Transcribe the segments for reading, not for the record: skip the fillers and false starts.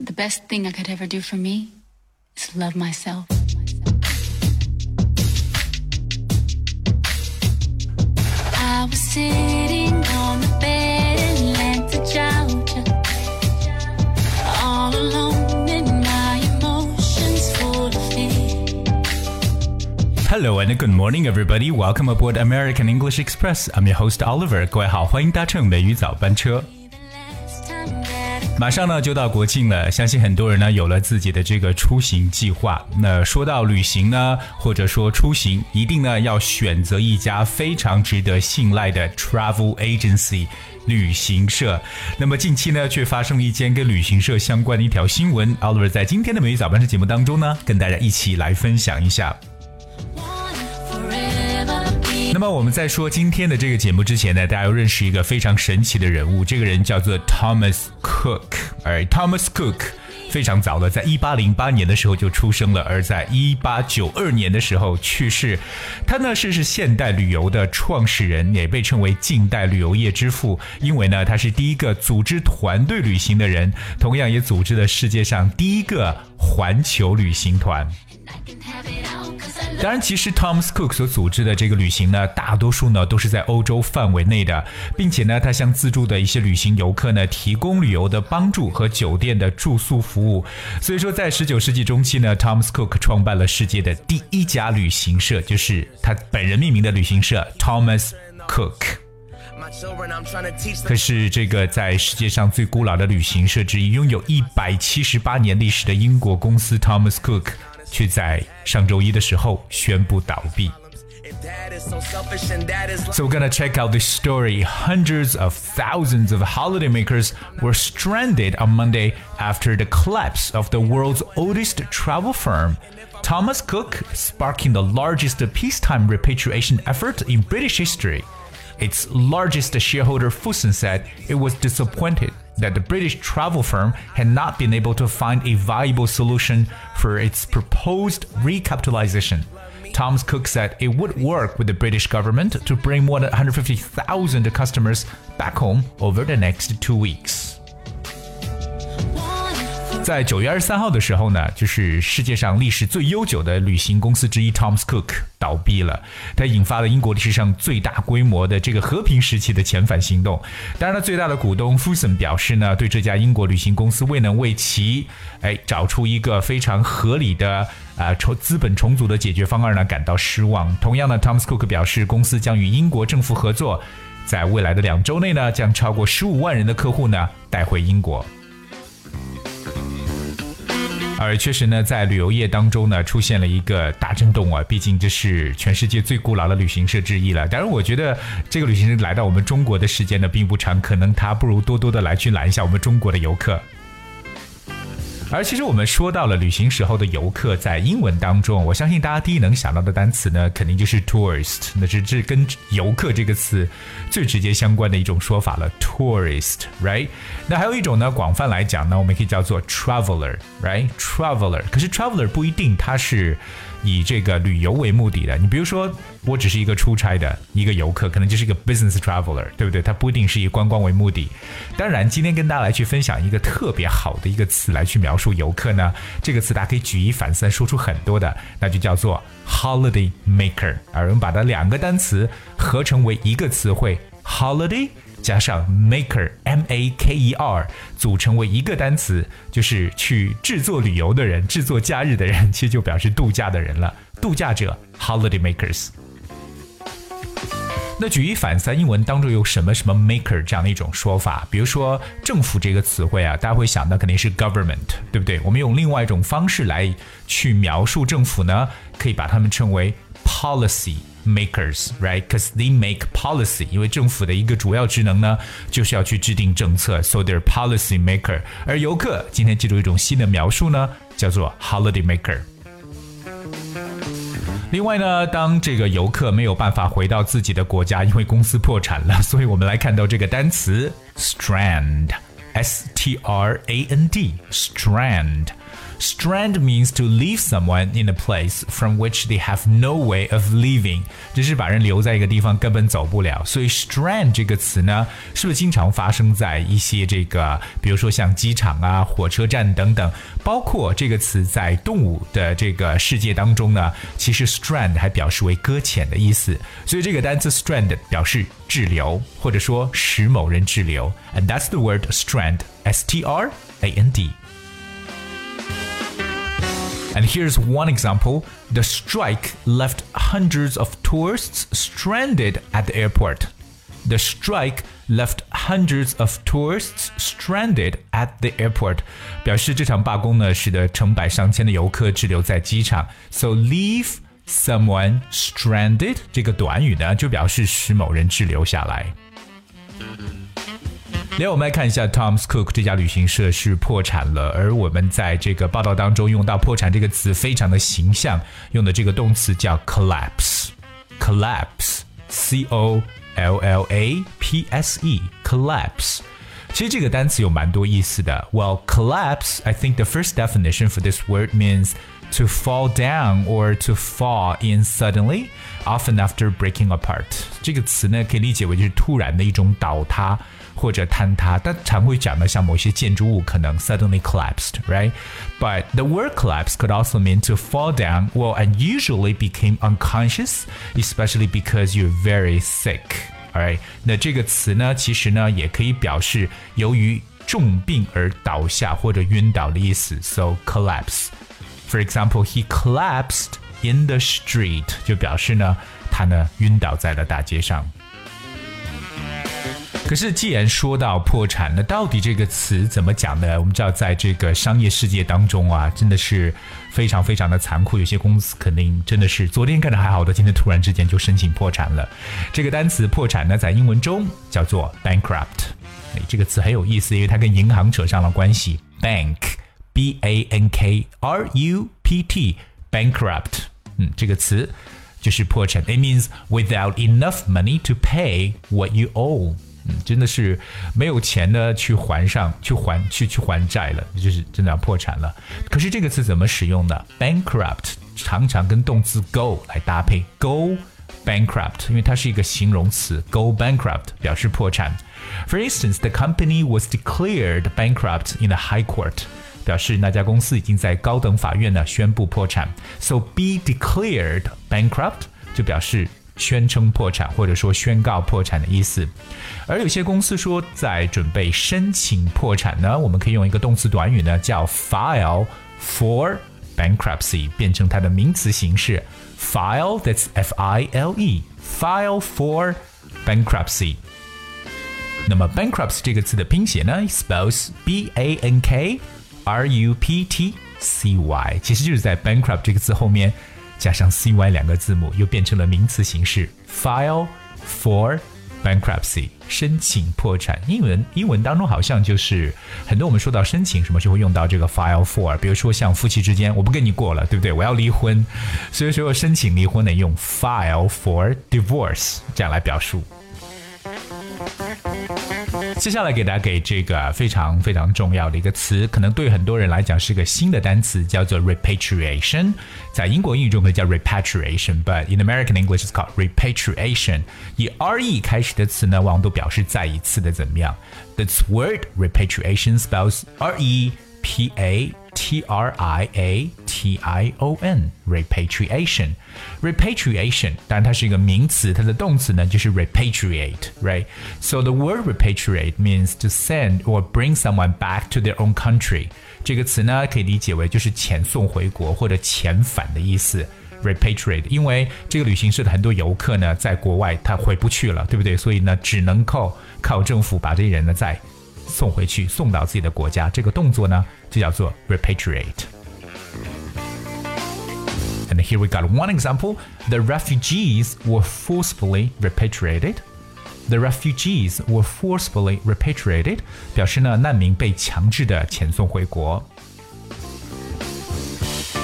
The best thing I could ever do for me is love myself. I was sitting on the bed in Atlanta, Georgia, all alone in my emotions full of fear. Hello and good morning, everybody. Welcome aboard American English Express. I'm your host Oliver. 各位好，欢迎搭乘美语早班车。马上呢就到国庆了，相信很多人呢有了自己的这个出行计划。那说到旅行呢，或者说出行，一定呢要选择一家非常值得信赖的 travel agency 旅行社。那么近期呢却发生了一件跟旅行社相关的一条新闻 Oliver 在今天的美语早班车节目当中呢跟大家一起来分享一下。那么我们在说今天的这个节目之前呢，大家要认识一个非常神奇的人物，这个人叫做 Thomas Cook。而 Thomas Cook 非常早的在1808年的时候就出生了，而在1892年的时候去世。他呢是现代旅游的创始人，也被称为近代旅游业之父，因为呢他是第一个组织团队旅行的人，同样也组织了世界上第一个环球旅行团。当然其实 Thomas Cook 所组织的这个旅行呢，大多数呢都是在欧洲范围内的，并且呢他向自助的一些旅行游客呢提供旅游的帮助和酒店的住宿服务。所以说在19世纪中期呢， Thomas Cook 创办了世界的第一家旅行社，就是他本人命名的旅行社 Thomas Cook。可是这个在世界上最古老的旅行社之一，拥有178年历史的英国公司 Thomas Cook却在上周一的时候宣布倒闭。So we're gonna check out this story. Hundreds of thousands of holidaymakers were stranded on Monday after the collapse of the world's oldest travel firm, Thomas Cook, sparking the largest peacetime repatriation effort in British history. Its largest shareholder Fuson said it was disappointed that the British travel firm had not been able to find a viable solution for its proposed recapitalization. Thomas Cook said it would work with the British government to bring more than 150,000 customers back home over the next 2 weeks. 在9月23号的时候呢，就是世界上历史最悠久的旅行公司之一 Thomas Cook 倒闭了，它引发了英国历史上最大规模的这个和平时期的遣返行动。当然了，最大的股东 Fuson 表示呢，对这家英国旅行公司未能为其找出一个非常合理的资本重组的解决方案呢感到失望。同样呢 Thomas Cook 表示，公司将与英国政府合作，在未来的2周内呢，将超过15万人的客户呢带回英国。而确实呢，在旅游业当中呢，出现了一个大震动啊！毕竟这是全世界最古老的旅行社之一了。当然，我觉得这个旅行社来到我们中国的时间呢，并不长，可能它不如多多的来去揽一下我们中国的游客。而其实我们说到了旅行时候的游客，在英文当中，我相信大家第一能想到的单词呢，肯定就是 tourist， 那是这跟游客这个词最直接相关的一种说法了 tourist， right？ 那还有一种呢，广泛来讲呢，我们可以叫做 traveler， right？ traveler， 可是 traveler 不一定它是以这个旅游为目的的。你比如说，我只是一个出差的一个游客，可能就是一个 business traveler， 对不对？它不一定是以观光为目的。当然，今天跟大家来去分享一个特别好的一个词来去描述游客呢，这个词大家可以举一反三说出很多的，那就叫做 holiday maker。而我们把它2个单词合成为一个词汇 holiday加上 maker M-A-K-E-R 组成为一个单词，就是去制作旅游的人，制作假日的人，其实就表示度假的人了，度假者 holiday makers。那举一反三，英文当中有什么 maker 这样的一种说法？比如说政府这个词汇啊，大家会想到肯定是 government， 对不对？我们用另外一种方式来去描述政府呢，可以把它们称为 policy makers, right? Because they make policy， 因为政府的一个主要职能呢，就是要去制定政策 ，so they're policy maker。而游客今天记住一种新的描述呢，叫做 holiday maker。另外呢，当这个游客没有办法回到自己的国家，因为公司破产了，所以我们来看到这个单词 strand， S-T-R-A-N-D， strand。 Strand means to leave someone in a place from which they have no way of leaving， 就是把人留在一个地方根本走不了。所以 strand 这个词呢，是不是经常发生在一些这个，比如说像机场啊、火车站等等，包括这个词在动物的这个世界当中呢，其实 strand 还表示为搁浅的意思。所以这个单词 strand 表示滞留，或者说使某人滞留。And that's the word strand, S-T-R-A-N-D.And here's one example. The strike left hundreds of tourists stranded at the airport. The strike left hundreds of tourists stranded at the airport. 表示这场罢工呢，使得成百上千的游客滞留在机场。So leave someone stranded 这个短语呢，就表示使某人滞留下来。另外我们来看一下 Thomas Cook 这家旅行社是破产了，而我们在这个报道当中用到破产这个词非常的形象，用的这个动词叫 collapse C-O-L-L-A-P-S-E collapse。 其实这个单词有蛮多意思的。 Well, collapse, I think the first definition for this word means to fall down or to fall in suddenly, often after breaking apart. 这个词呢，可以理解为就是突然的一种倒塌或者坍塌，但常会讲的像某些建筑物可能 suddenly collapsed, right? But the word collapse could also mean to fall down, well, and usually became unconscious, especially because you're very sick. Alright, 那这个词呢，其实呢也可以表示由于重病而倒下或者晕倒的意思。So collapse.For example, he collapsed in the street， 就表示呢，他呢晕倒在了大街上。可是既然说到破产，那到底这个词怎么讲呢？我们知道在这个商业世界当中啊，真的是非常非常的残酷，有些公司肯定真的是昨天干得还好的，今天突然之间就申请破产了。这个单词破产呢，在英文中叫做 bankrupt。这个词很有意思，因为它跟银行扯上了关系。Bank B-A-N-K-R-U-P-T bankrupt， 这个词就是破产。It means without enough money to pay what you owe。真的是没有钱呢去还债了，就是真的要破产了。可是这个词怎么使用呢？ Bankrupt 常常跟动词 go 来搭配 ，go bankrupt， 因为它是一个形容词 ，go bankrupt 表示破产。For instance, the company was declared bankrupt in the High Court， 表示那家公司已经在高等法院呢宣布破产。So be declared bankrupt 就表示宣称破产或者说宣告破产的意思。而有些公司说在准备申请破产呢，我们可以用一个动词短语呢叫 file for bankruptcy， 变成它的名词形式 file, that's F-I-L-E, file for bankruptcy。 那么 bankruptcy 这个词的拼写呢 spells B-A-N-K-R-U-P-T-C-Y， 其实就是在 bankrupt 这个词后面加上 CY 两个字母，又变成了名词形式 file for bankruptcy， 申请破产。英文当中好像就是很多我们说到申请什么就会用到这个 file for， 比如说像夫妻之间，我不跟你过了，对不对？我要离婚，所以说申请离婚呢用 file for divorce 这样来表述。接下来给大家给这个非常非常重要的一个词，可能对很多人来讲是个新的单词，叫做 repatriation。在英国英语中可以叫 repatriation，but in American English it's called repatriation。以 re 开始的词呢，往往都表示再一次的怎么样。This word repatriation spells R-E-P-A-T-R-I-A-T-I-O-N repatriation。 Repatriation 当然它是一个名词，它的动词呢就是 repatriate, right? So the word repatriate means to send or bring someone back to their own country。 这个词呢可以理解为就是遣送回国或者遣返的意思。repatriate， 因为这个旅行社的很多游客呢在国外他回不去了，对不对？所以呢只能靠政府把这些人呢再送回去，送到自己的国家，这个动作呢就叫做 repatriate。And here we got one example. The refugees were forcefully repatriated. The refugees were forcefully repatriated. 表示呢，难民被强制的遣送回国。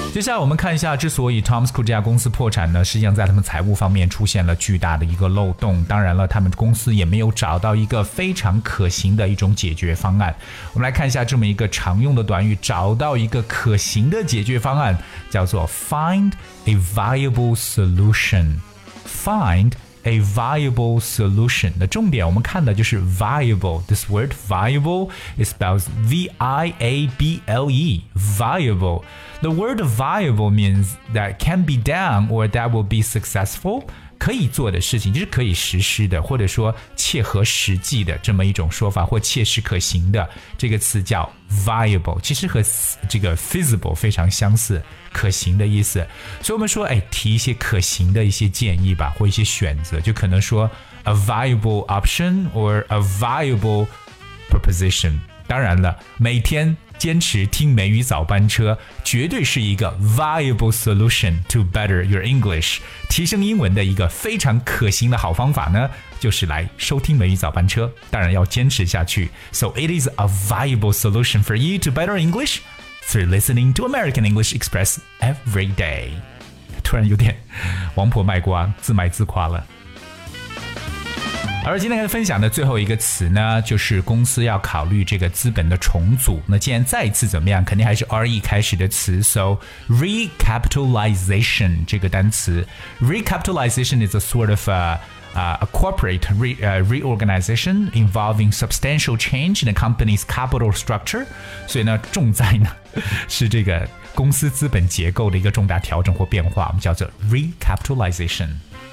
接下来我们看一下，之所以 Thomas Cook 这家公司破产呢，实际上在他们财务方面出现了巨大的一个漏洞。当然了，他们公司也没有找到一个非常可行的一种解决方案。我们来看一下这么一个常用的短语，找到一个可行的解决方案，叫做 find a viable solution。Find a viable solution. 的重点我们看的就是 viable. This word viable is spelled V-I-A-B-L-E. Viable. The word viable means that can be done or that will be successful. 可以做的事情，就是可以实施的，或者说切合实际的这么一种说法，或切实可行的，这个词叫 viable， 其实和这个 feasible 非常相似，可行的意思。所以我们说，提一些可行的一些建议吧，或一些选择，就可能说 a viable option or a viable proposition。当然了，每天坚持听美语早班车绝对是一个 viable solution to better your English。 提升英文的一个非常可行的好方法呢，就是来收听美语早班车，当然要坚持下去。 So it is a viable solution for you to better English through listening to American English Express every day。 突然有点王婆卖瓜，自卖自夸了。而今天分享的最后一个词呢，就是公司要考虑这个资本的重组。那既然再一次怎么样，肯定还是 RE 开始的词。 So recapitalization 这个单词 recapitalization is a sort of a corporate reorganization involving substantial change in the company's capital structure。 所以呢，重在呢是这个公司资本结构的一个重大调整或变化，我们叫做 recapitalization。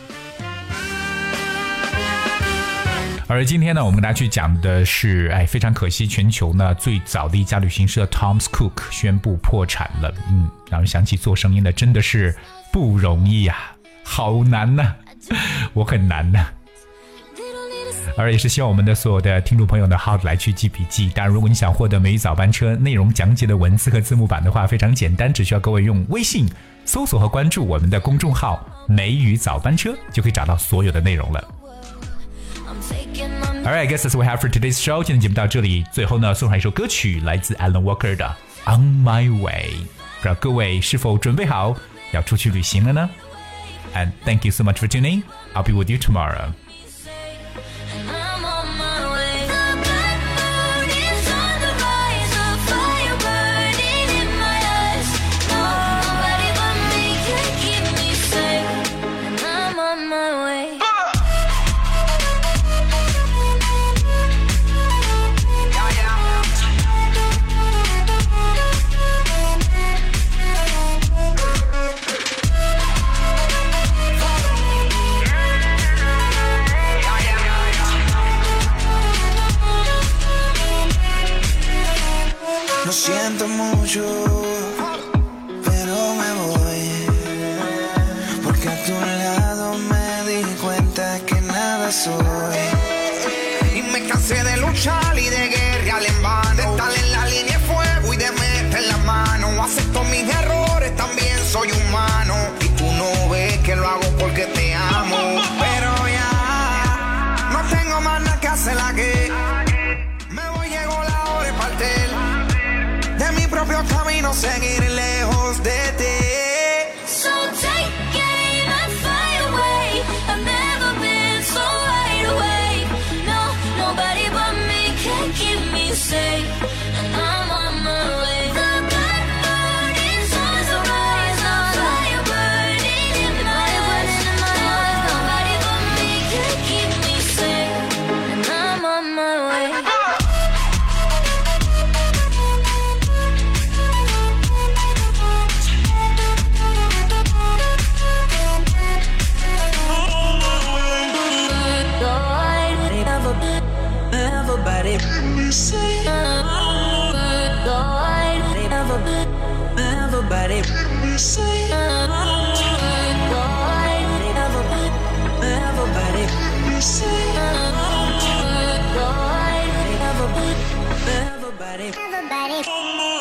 而今天呢，我们跟大家去讲的是，非常可惜，全球呢最早的一家旅行社 Thomas Cook 宣布破产了。让人想起做生意呢真的是不容易啊，好难呐，我很难呐。而也是希望我们的所有的听众朋友呢，好好的来去记笔记。当然，如果你想获得美语早班车内容讲解的文字和字幕版的话，非常简单，只需要各位用微信搜索和关注我们的公众号美语早班车，就可以找到所有的内容了。Alright, I guess that's what we have for today's show. 今天节目到这里，最后呢送上一首歌曲，来自 Alan Walker 的 On My Way。 不知道各位是否准备好要出去旅行了呢？ And thank you so much for tuning. I'll be with you tomorrow. Lo siento mucho, pero me voy, porque a tu lado me di cuenta que nada soy. Y me cansé de luchar y de guerrear en vano, de estar en la línea de fuego y de meter la mano. Acepto mis errores, también soy humano, y tú no ves que lo hago porque te amo. Pero ya no tengo más nada que hacer aquí. Me voy, llegó la hora de partir de mi propio camino, seguir lejos de ti. So take aim and fly away. I've never been so wide awake. No, nobody but me can keep me safe. And I'm on my way. The blood burning suns will rise. The fire burning in my eyes. Nobody but me can keep me safe. And I'm on my way. Everybody, everybody, everybody.